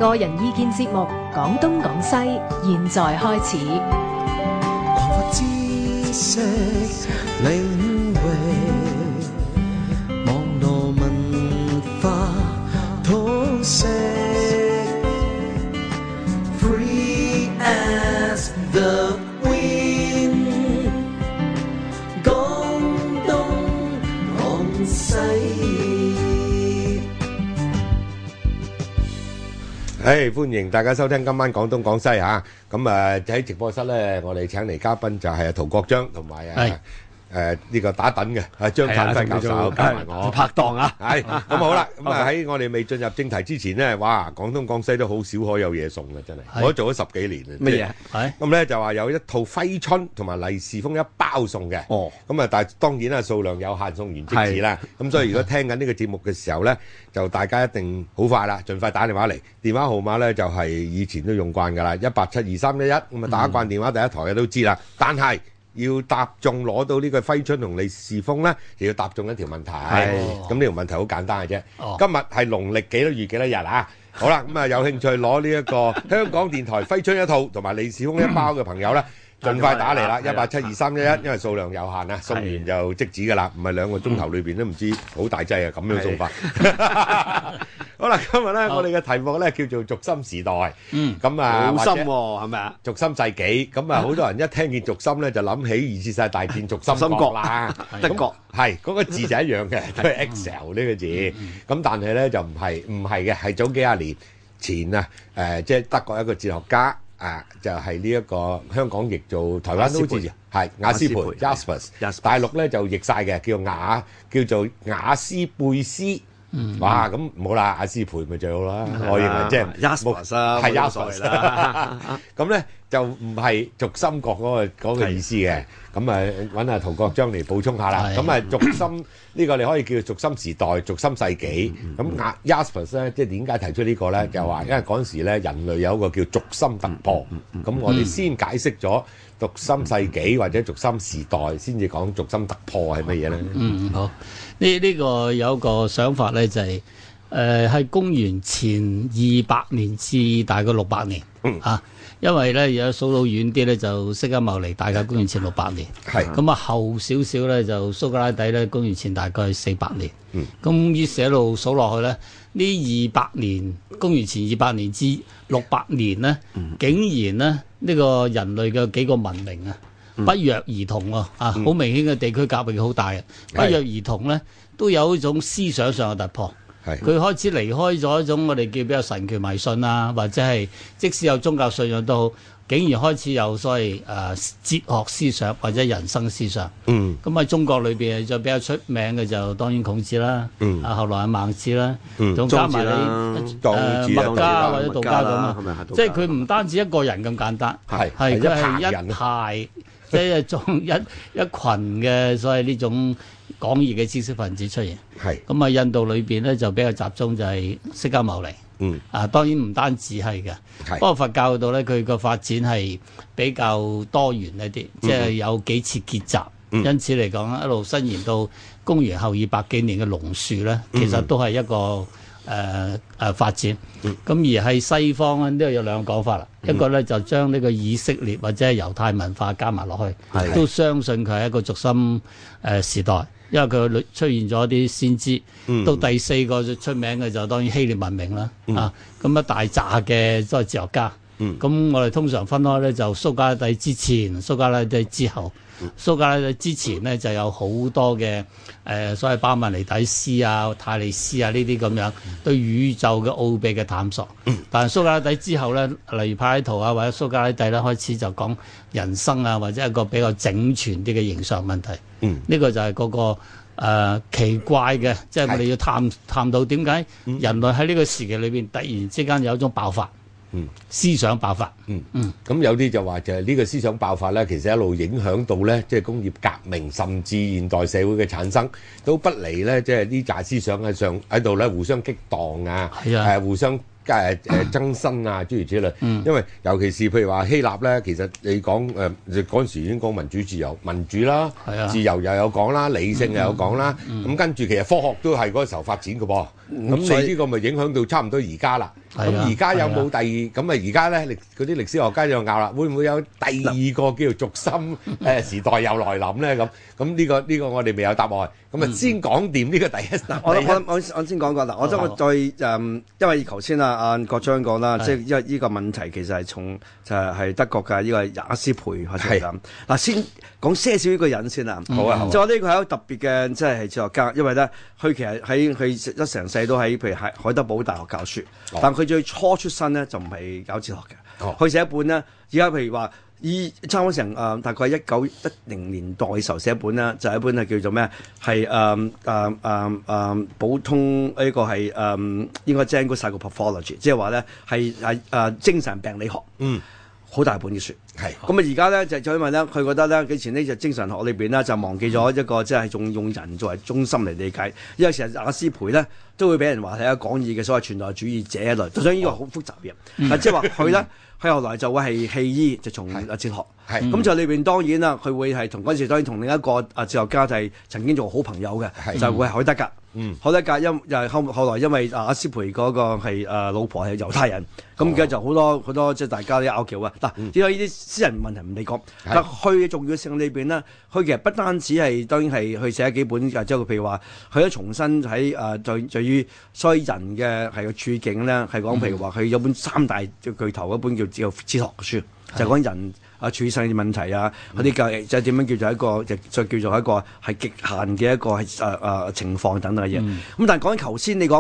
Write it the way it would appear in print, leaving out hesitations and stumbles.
個人意見節目《講東講西》，現在開始。 擴闊知識領域，網絡文化通識 ，Free as the wind， 講東講西。 歡迎大家收聽今晚廣東廣西嚇。咁喺直播室咧，我哋請嚟嘉賓就係陶國璋同埋呢個打躉嘅張燦輝教授，加埋我拍檔啊。 係咁好啦。咁喺我哋未進入正題之前咧，哇！廣東廣西都好少可有嘢送嘅，真係。我都做咗10幾年啦。 乜嘢？係咁咧就話有一套揮春同埋利是封一包送嘅。哦。咁但係當然啦，數量有限，送完即止啦。咁所以如果聽緊呢個節目嘅時候咧，就大家一定好快啦，盡快打電話嚟。電話號碼咧就係以前都用慣㗎啦，1872311。咁啊打慣電話第一台嘅都知啦。但係要答中攞到呢個揮春同利是封咧，就要答中一條問題。咁呢條問題好簡單嘅啫。今日係農曆幾多月幾多日啊？好啦，咁有興趣攞呢一個香港電台揮春一套同埋利是封一包嘅朋友咧，盡快打嚟啦，1872311，因為數量有限啊，送完就即止㗎啦，唔係2個鐘頭裏邊都唔知好大劑啊，咁樣送法。好啦，今日咧我哋嘅題目咧叫做軸心時代。咁啊， 好深喎，係咪啊？ 軸心世紀，咁啊好多人一聽見軸心咧就諗起2次世界大戰軸心國啦， 德國係嗰個字就一樣嘅，都係 Excel 呢個字。咁但係咧就唔係嘅，係早幾廿年前啊，即係德國一個哲學家。就係呢一個香港譯做台灣都好似係雅斯培 Jaspers， 大陸咧就譯晒嘅，叫做雅斯貝斯。哇，咁唔好啦，雅斯培咪最好啦。我認為即係 Jaspers 啦， 係 Jaspers 啦。咁咧就唔係軸心國嗰個意思嘅。咁揾阿陶國璋嚟補充下啦。咁軸心呢個你可以叫做軸心時代、軸心世紀。咁Jaspers 咧，即係點解提出呢個咧？就話因為嗰陣時咧，人類有一個叫軸心突破。咁我哋先解釋咗軸心世紀或者軸心時代，先至講軸心突破係乜嘢咧？ 好。呢個有一個想法咧，就係係公元前200年至大概600年。因為咧，有數到遠啲咧，就釋迦牟尼大概公元前600年。咁啊，後少少咧就蘇格拉底咧，公元前大概400年。咁於是一路數落去咧，呢200年，公元前200年至600年咧，竟然咧呢個人類嘅幾個文明啊，不約而同喎，好明顯嘅地區隔域好大嘅，不約而同咧都有一種思想上嘅突破。佢開始離開咗一種我哋叫比較神權迷信啊，或者係即使有宗教信仰都好，竟然開始有所謂哲學思想或者人生思想。咁喺中國裏邊就比較出名嘅就當然孔子啦，後來係孟子啦，仲加埋你墨家或者道家咁啊，即係佢唔單止一個人咁簡單，係佢係一派，即係一群嘅所謂呢種廣義嘅知識分子出現。咁啊，印度裏邊咧就比較集中就係釋迦牟尼。當然唔單止係嘅，不過佛教度咧佢個發展係比較多元一啲，即係有幾次結集。因此嚟講一路伸延到公元後200幾年嘅龍樹咧，其實都係一個發展。咁而喺西方咧，呢度有2個講法啦。一個咧就將呢個以色列或者係猶太文化加埋落去，都相信佢係一個軸心時代。因為佢出現咗啲先知，到第4個最出名嘅就當然希臘文明啦。咁一大扎嘅都係哲學家。咁我哋通常分開咧，就蘇格拉底之前、蘇格拉底之後。蘇格拉底之前呢，就有好多嘅所謂巴門尼底斯啊、泰利斯啊呢啲咁樣對宇宙嘅奧秘嘅探索。但係蘇格拉底之後咧，例如柏拉圖啊或者蘇格拉底咧，開始就講人生啊，或者一個比較整全啲嘅形上問題。呢個就係嗰個奇怪嘅，即係我哋要探到點解人類喺呢個時期裏邊突然之間有一種爆發。思想爆發。 咁有啲就話就係呢個思想爆發咧，其實一路影響到咧，即係工業革命，甚至現代社會嘅產生，都不離咧，即係呢紮思想喺度咧互相激盪啊，互相增生啊，諸如此類。因為尤其是譬如話希臘咧，其實你講嗰陣時已經講民主自由、民主啦，自由又有講啦，理性又有講啦。咁跟住其實科學都係嗰個時候發展嘅噃。 咁你呢個咪影響到差唔多而家啦。咁而家有冇第二？咁啊而家咧，嗰啲歷史學家就拗啦，會唔會有第二個叫做軸心時代又來臨咧？咁呢個我哋未有答案。咁啊先講掂呢個第一。 我先講過嗱，我再因為頭先阿國章講啦，即係因為呢個問題其實係從就係德國嘅呢個雅斯培開始咁。嗱，先講些少呢個人先啦。 好啊， 就話呢個係一個特別嘅，即係哲學家，因為咧佢其實佢一成世都喺譬如海德堡大學教書，但佢最初出身咧就唔係搞哲學嘅。佢寫一本咧，而家譬如話差唔多成大概1910年代嘅時候寫一本啦，就係一本係叫做咩？係普通呢個係應該 General Psychopathology， 即係話咧係精神病理學。好大本嘅書。咁啊而家咧就因為咧佢覺得咧以前呢就精神學裏邊咧就忘記咗一個即係仲用人作為中心嚟理解，因為成日雅斯培咧都會俾人話係一個講義嘅所謂存在主義者一類，就想呢個好複雜嘅。即係話佢咧。佢後來就會係棄醫，就從哲學。咁就裏邊當然啦，佢會係同嗰陣時當然同另一個哲學家就係曾經做好朋友嘅，就會係海德格。海德格又後來因為雅斯培嗰個係老婆係猶太人，咁而家就好多即係大家啲拗撬啊。嗱，呢啲私人問題唔理講，但佢嘅重要性裏邊呢，佢其實不單止係當然係去寫幾本即係譬如話，佢都重新喺對於所有人嘅係個處境咧，係講譬如話佢有本3大巨頭嗰本叫哲學嘅書，就係講人處世嘅問題啊，嗰啲嘅即係點樣叫做一個就叫做一個係極限嘅一個係情況等等嘅嘢。咁但係講緊頭先你講。